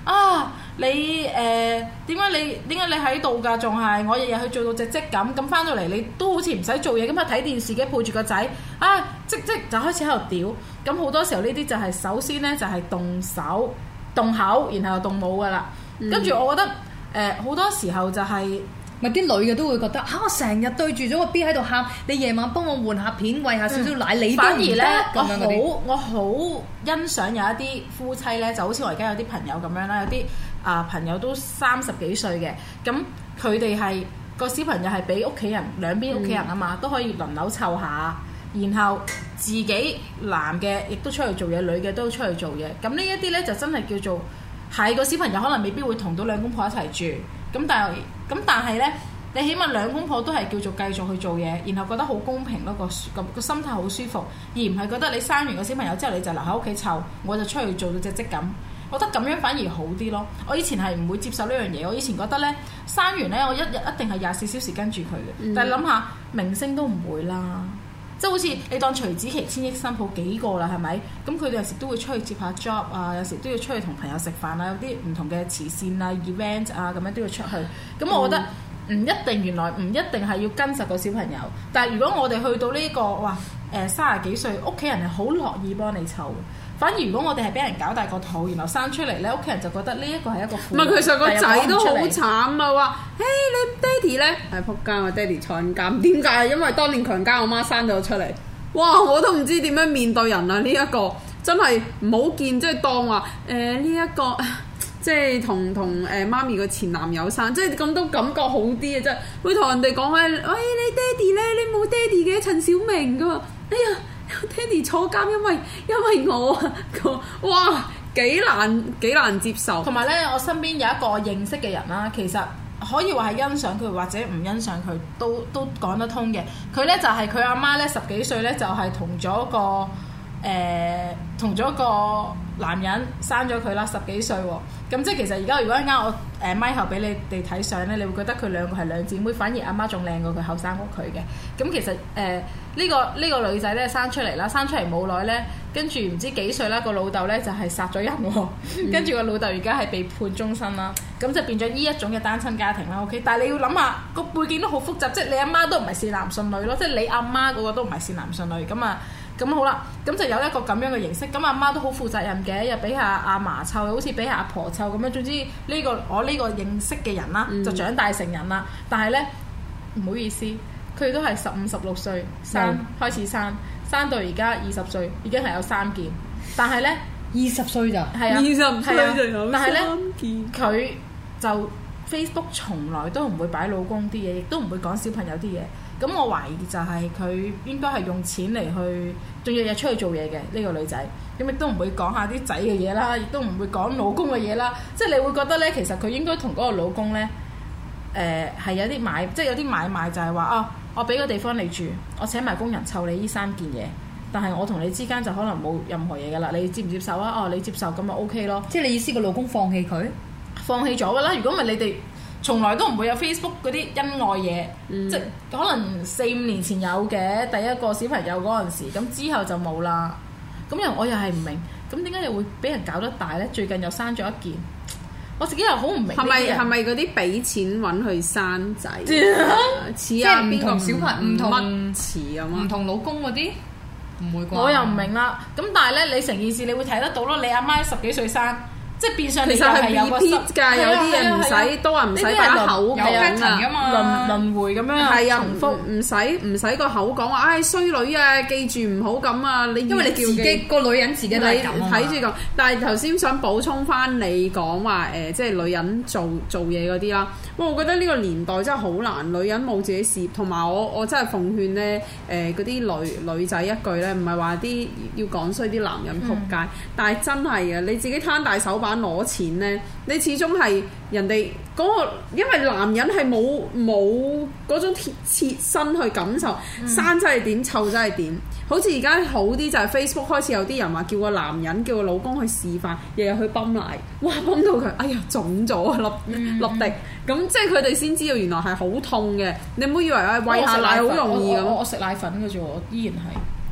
啊，你誒點解你點解你喺度㗎？仲係我日日去做到隻積咁，咁翻到嚟你都好似唔使做嘢咁啊，睇電視嘅抱住個仔啊，積積就開始喺度屌。咁好多時候呢啲就係首先咧就係動手動口，然後又動武㗎啦。跟住、嗯、我覺得誒好、呃、多時候就係、是。 咪啲女嘅都會覺得嚇、啊，我成日對住咗個 B 喺度喊，你夜晚幫我換下片，餵下少少奶，嗯、你都唔得咁樣嗰啲。我好我好欣賞有一啲夫妻咧，就好似我而家有啲朋友咁樣啦，有啲啊、呃、朋友都三十幾歲嘅，咁佢哋係個小朋友係俾屋企人兩邊屋企人啊嘛，嗯、都可以輪流湊下，然後自己男嘅亦都出去做嘢，女嘅都出去做嘢。咁呢一啲咧就真係叫做係個小朋友可能未必會同到兩公婆一齊住。咁但係咁但係咧，你起碼兩公婆都係叫做繼續去做嘢，然後覺得好公平咯，個個個心態好舒服，而唔係覺得你生完個小朋友之後你就留喺屋企湊，我就出去做到隻積咁。我覺得咁樣反而好啲咯。我以前係唔會接受呢樣嘢，我以前覺得咧生完咧我一日一定係廿四小時跟住佢嘅，嗯、但係諗下明星都唔會啦。即係好似你當徐子淇、千億新抱幾個啦，係咪？咁佢哋有時都會出去接下 job 啊，有時都要出去同朋友食飯啊，有啲唔同嘅慈善啊、event 啊咁樣都要出去。咁我覺得唔一定，原來唔一定係要跟實個小朋友。但係如果我哋去到呢、這個哇誒三十幾歲，屋企人係好樂意幫你湊。反而如果我哋係俾人搞大個肚，然後生出嚟咧，屋企人就覺得呢一個係一個苦。唔係，其實個仔都好慘啊！話，嘿，你爹哋咧係仆街，我爹哋坐緊監。點解？因為當年強姦我媽生咗出嚟。哇！我都唔知點樣面對人啊！呢、這、一個真係唔好見，即係當話誒呢一個，即係同同誒媽咪個前男友生，即係咁都感覺好啲啊！真係會同人哋講咧，喂，你爹哋咧，你冇爹哋嘅陳小明噶，哎呀！爹哋坐監，因為因為我啊，哇幾難幾難接受。同埋咧，我身邊有一個認識嘅人啦，其實可以話係欣賞佢或者唔欣賞佢，都都講得通嘅。佢咧就係佢阿媽咧十幾歲咧就係同咗個誒同咗個男人生咗佢啦，十幾歲喎。咁即係其實而家如果一陣我誒咪後俾你哋睇相咧，你會覺得佢兩個係兩姊妹，反而阿媽仲靚過佢後生過佢嘅。咁其實誒呢、呃呢個呢、呢個女仔咧生出嚟啦，生出嚟冇耐咧，跟住唔知幾歲啦，個老豆咧就係殺咗人喎，嗯、跟住個老豆而家係被判終身啦，咁就變咗呢一種嘅單親家庭啦。OK， 但係你要諗下個背景都好複雜，即係你阿媽都唔係善男信女咯，即係你阿媽嗰個都唔係善男信女咁啊。咁好啦，咁就有一個咁樣嘅形式。咁阿媽都好負責任嘅，又俾下阿嫲湊，好似俾下阿婆湊咁樣。總之呢、呢個我呢個認識嘅人啦，嗯、就長大成人啦。但係咧唔好意思，佢都係十五十六歲生、嗯、開始生，生到而家二十歲已經係有三件。但係咧二十歲咋？係啊，二十歲就有三件。佢就 Facebook 從來都唔會擺老公啲嘢，亦都唔會講小朋友啲嘢。咁我懷疑就係佢應該係用錢嚟去，仲日日出去做嘢嘅呢個女仔，咁亦都唔會講下啲仔嘅嘢啦，亦都唔會講老公嘅嘢啦。即係你會覺得咧，其實佢應該同嗰個老公咧，誒、呃、係有啲買，即係有啲買賣就，就係話啊，我俾個地方你住，我請埋工人湊你呢三件嘢，但係我同你之間就可能冇任何嘢噶啦，你接唔接受啊？哦，你接受咁咪 OK 咯。即係你意思個老公放棄佢？放棄咗噶啦，如果唔係你哋。從來都唔會有 Facebook 嗰啲恩愛嘢，嗯、即係可能四五年前有嘅第一個小朋友嗰陣時，咁之後就冇啦。咁又我又係唔明，咁點解又會俾人搞得大咧？最近又生咗一件，我自己又好唔明。係咪係咪嗰啲俾錢揾佢生仔？似啊，唔同小朋友唔同似咁唔同老公嗰啲，唔會啩？我又唔明啦。咁但係咧，你成件事你會睇得到咯。你阿媽十幾歲生。即係變相其實係有個 repeat 㗎，有啲嘢唔使都話唔使把口講啊，輪輪迴咁樣係啊，唔唔使唔使個口講話，唉衰女啊，記住唔好咁啊！你因為你自己個女人自己都係咁啊，睇住咁。但係頭先想補充翻你講話誒，即係女人做做嘢嗰啲啦。哇！我覺得呢個年代真係好難，女人冇自己事業，同埋我我真係奉勸咧誒嗰啲女女仔一句咧，唔係話啲要講衰啲男人仆街，嗯、但係真係嘅，你自己攤大手板攞錢咧，你始終係人哋嗰、嗰個，因為男人係冇冇嗰種切身去感受，嗯、生真係點，湊真係點。好似而家好啲就係 Facebook 開始有啲人話叫個男人叫個老公去示範，日日去泵奶，哇泵到佢，哎呀腫咗啊粒粒滴，咁、嗯、即係佢哋先知道原來係好痛嘅。你唔好以為啊餵下奶好容易咁。我食奶粉嘅啫，我依然係。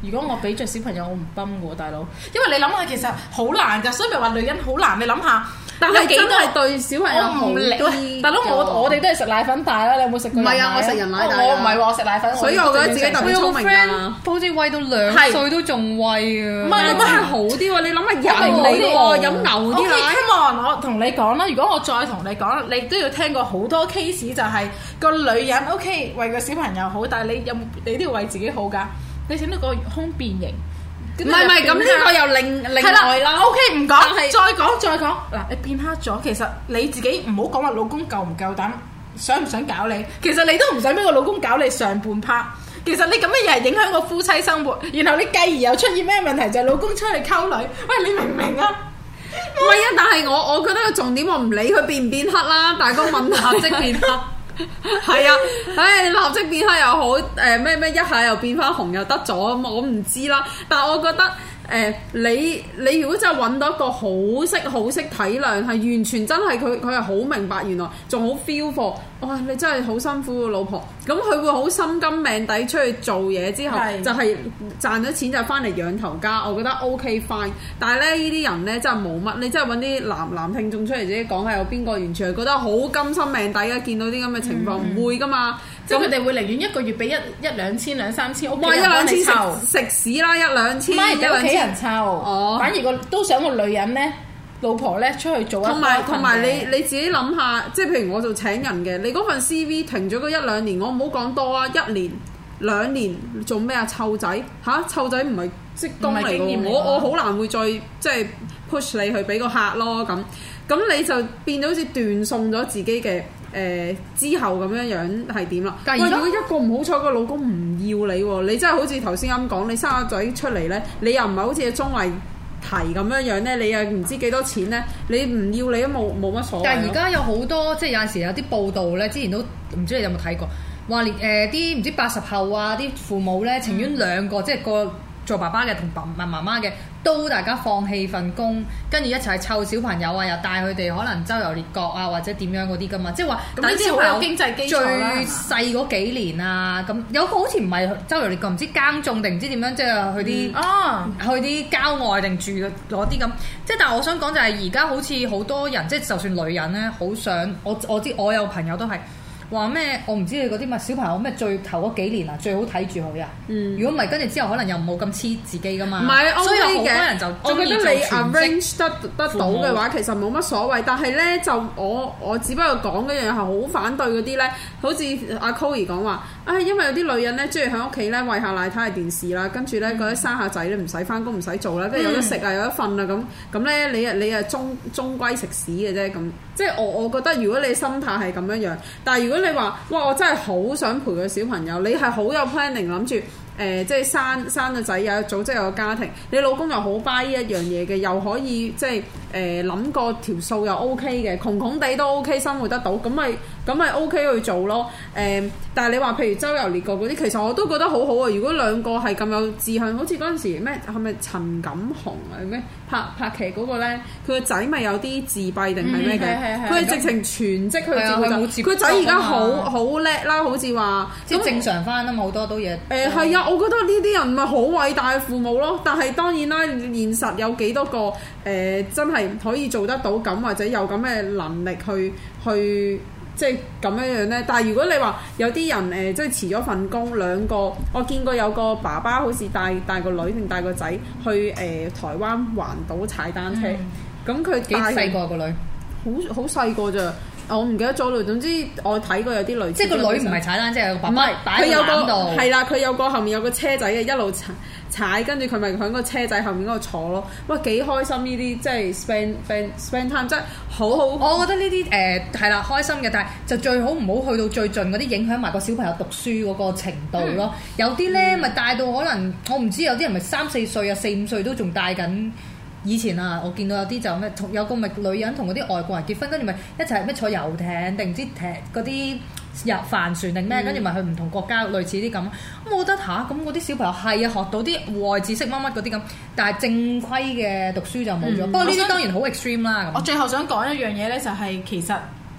如果我俾着小朋友，我唔泵喎，大佬。因為你諗下，其實好難㗎，所以咪話女人好難。你諗下， 但係真係對小朋友好我唔理啲。 大佬，我我哋都係食奶粉大啦，你有冇食過？ 唔係啊，我食人奶大㗎。 我唔係喎，我食奶粉。 所以我覺得自己特別聰明㗎。 好似餵到兩歲都仲餵啊！ 唔係真係好啲喎！你諗下人嚟喎，飲牛啲奶。 Come on，我同你講啦，如果我再同你講，你都要聽過好多 case， 就係個女人 OK 為個小朋友好，但係你有你都要為自己好㗎。你整到個胸變形， 唔係唔係，咁呢個又另另外啦。 OK 唔講， 但係再講再講嗱，你變黑咗，其實你自己唔好講話老公夠唔夠膽，想唔想搞你，其實你都唔想俾個老公搞你上半 part。其實你咁嘅嘢係影響個夫妻生活，然後你繼而又出現咩問題，就係老公出去溝女。喂，你明唔明啊？ 唔係啊，但係我我覺得個重點我唔理佢變唔變黑啦，但係個問題即變黑。 係啊，唉，立即變黑又好，誒咩咩一下又變翻紅又得咗，我唔知啦。但係我覺得誒、呃，你你如果真係揾到一個好識好識體諒，係完全真係佢佢係好明白，原來仲好 feel for，哇！你真係好辛苦個老婆，咁佢會好心甘命抵出去做嘢之後， 是就係賺咗錢就翻嚟養頭家，我覺得 OK fine。但係咧呢啲人咧真係冇乜，你真係揾啲男男聽眾出嚟自己講下，有邊個完全係覺得好甘心命抵啊？見到啲咁嘅情況唔、嗯、會噶嘛？ 即係佢哋會寧願一個月俾一一兩千兩三千，屋企哇！一人幫兩千你湊， 食屎啦！一兩千， 唔係俾屋企人湊， 哦， 反而個都想個女人咧。老婆咧出去做一同埋同埋你你自己諗下，即係譬如我做請人嘅，你嗰份 C V 停咗嗰一兩年，我唔好講多啊，一年兩年做咩啊？湊仔嚇，湊仔唔係職工嚟嘅，我我好難會再即係 push 你去俾個客咯咁，咁你就變咗好似斷送咗自己嘅誒、呃、之後咁樣樣係點啦？喂，如果一個唔好彩個老公唔要你喎，你真係好似頭先咁講，你生個仔出嚟咧，你又唔係好似綜藝提咁樣樣咧，你又唔知幾多錢咧，你唔要你都冇冇乜所謂。 但係而家有好多即係有陣時有啲報道咧，之前都唔知你有冇睇過，話連誒啲唔知八十後啊啲父母咧，情願兩個、嗯、即係個做爸爸嘅同爸媽媽嘅都大家放棄份工，跟住一齊湊小朋友啊，又帶佢哋可能周遊列國啊，或者點樣嗰啲噶嘛，即係話等啲小朋友經濟基最礎啦細嗰幾年啊，咁有個好似唔係周遊列國，唔知耕種定唔知點樣，即係去啲、嗯啊、去啲郊外定住攞啲咁。即係但係我想講就係而家好似好多人，即係就算女人咧，好想我我知我有朋友都係。話咩？我唔知你嗰啲乜小朋友咩最頭嗰幾年啊，最好睇住佢啊！如果唔係，跟住之後可能又冇咁黐自己噶嘛。 唔係， 所以有好多人就我覺得你 arrange 得得到嘅話，其實冇乜所謂。但係咧，就我我只不過講嗰樣嘢係好反對嗰啲咧，好似阿 Chloe 講話啊，因為有啲女人咧中意喺屋企咧餵下奶睇下電視啦，跟住咧嗰啲生下仔咧唔使翻工唔使做啦，跟住有得食啊有得瞓啊咁咁咧，你啊你啊終終歸食屎嘅啫咁。即係我我覺得如果你心態係咁樣樣，但係如果你話哇我真係好想陪個小朋友，你係好有 planning 諗住誒即係生生個仔有組織有個家庭，你老公又好 buy 呢一樣嘢嘅，又可以即係誒諗個條數又 OK 嘅，窮窮地都 OK 生活得到，咁咪咁咪 OK 去做咯。誒、呃，但係你話譬如周遊列國嗰啲，其實我都覺得好好啊。如果兩個係咁有志向，好似嗰陣時咩係咪陳錦鴻啊咩拍拍劇嗰個咧，佢個仔咪有啲自閉定係咩嘅？佢係、嗯、直情全職去照顧仔，佢個仔而家好好叻啦，好似話即係正常翻啊嘛，好多都嘢。 誒係啊，我覺得呢啲人咪好偉大嘅父母咯。但係當然啦，現實有幾多個誒、呃、真係可以做得到咁，或者有咁嘅能力去去。即係咁樣樣咧，但係如果你話有啲人誒、呃，即係辭咗份工，兩個我見過有個爸爸好似帶帶個女定帶個仔去誒、呃、台灣環島踩單車，咁佢幾細個個女， 好好細個咋，我唔記得咗啦。總之我睇過有啲類似， 即係個女唔係踩單車，係個爸爸擺喺個籃度， 係啦，佢有個後面有個車仔嘅，一路踩踩，跟住佢咪喺個車仔後面嗰度坐咯。哇，幾開心呢啲，即係 spend spend spend time，真係好好。 我覺得呢啲誒係啦，開心嘅，但係就最好唔好去到最盡嗰啲，影響埋個小朋友讀書嗰個程度咯。嗯、有啲咧咪帶到可能我唔知，有啲人咪三四歲啊、四五歲都仲帶緊。以前啊，我見到有啲就咩，有個咪女人同嗰啲外國人結婚，跟住咪一齊咩坐遊艇定唔知艇嗰啲遊帆船定咩，跟住咪去唔同國家類似啲咁。咁我覺得吓，咁嗰啲小朋友係啊學到啲戶外知識乜乜嗰啲咁，但係正規嘅讀書就冇咗。不過呢啲當然好 extreme 啦。 我最後想講一樣嘢咧，就係其實誒、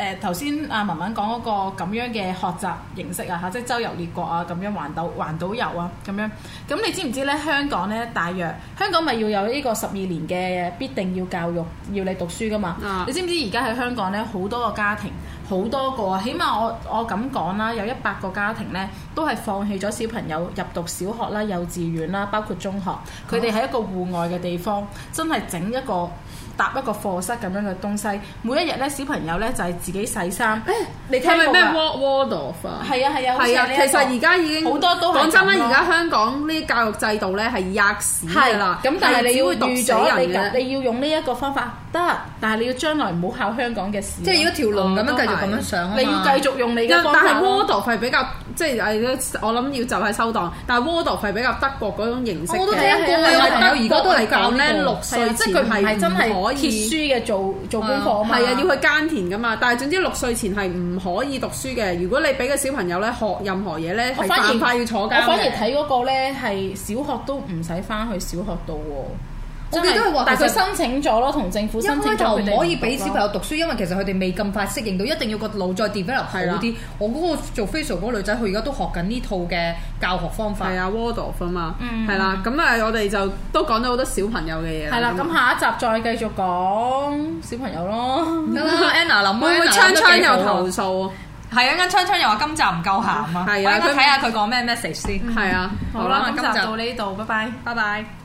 誒頭先阿文文講嗰個咁樣嘅學習形式啊嚇，即係周遊列國啊咁樣環島環島遊啊咁樣。咁你知唔知咧？香港咧大約香港咪要有呢個十二年嘅必定要教育要你讀書噶嘛？啊、你知唔知而家喺香港咧好多個家庭好多個啊，起碼我我咁講啦，有一百個家庭咧都係放棄咗小朋友入讀小學啦、幼稚園啦，包括中學，佢哋喺一個戶外嘅地方，真係整一個搭一個課室咁樣嘅東西。每一日咧小朋友咧就係、是、自己洗衫。誒，你聽過咩 Waldorf 啊？ 係啊係啊， 係啊，其實而家已經好多都講真啦，而家香港呢啲教育制度咧係吔屎㗎啦。咁但係你要預咗你你要用呢一個方法得，但係你要將來唔好考香港嘅試。 即係如果條龍咁樣繼續咁樣上啊嘛， 你要繼續用你嘅方法。 但係 Waldorf 係比較即係誒，我諗要就係收檔。但係 Waldorf 係比較德國嗰種形式嘅。 我都聽過啊，朋友而家都係講咧六歲即係佢係真係可以貼書嘅做做功課啊嘛。 係啊，要去耕田㗎嘛。但係總之六歲前係唔可以讀書嘅。如果你俾個小朋友咧學任何嘢咧，係犯法要坐監嘅。 我反而睇嗰個咧係小學都唔使翻去小學度喎。 我記得佢話， 但係佢申請咗咯，同政府申請咗佢哋唔可以俾小朋友讀書，因為其實佢哋未咁快適應到，一定要個腦再 develop 好啲。我嗰個做 facial 嗰個女仔，佢而家都學緊呢套嘅教學方法。 係啊 Waldorf 啊嘛，係啦。咁啊，我哋就都講咗好多小朋友嘅嘢。 係啦，咁下一集再繼續講小朋友咯。 得啦 Anna 諗會唔會昌昌有投訴？ 係啊，啱昌昌又話今集唔夠鹹啊。係啊，我睇下佢講咩 message 先。 係啊， 好啦，今集到呢度，拜拜， 拜拜。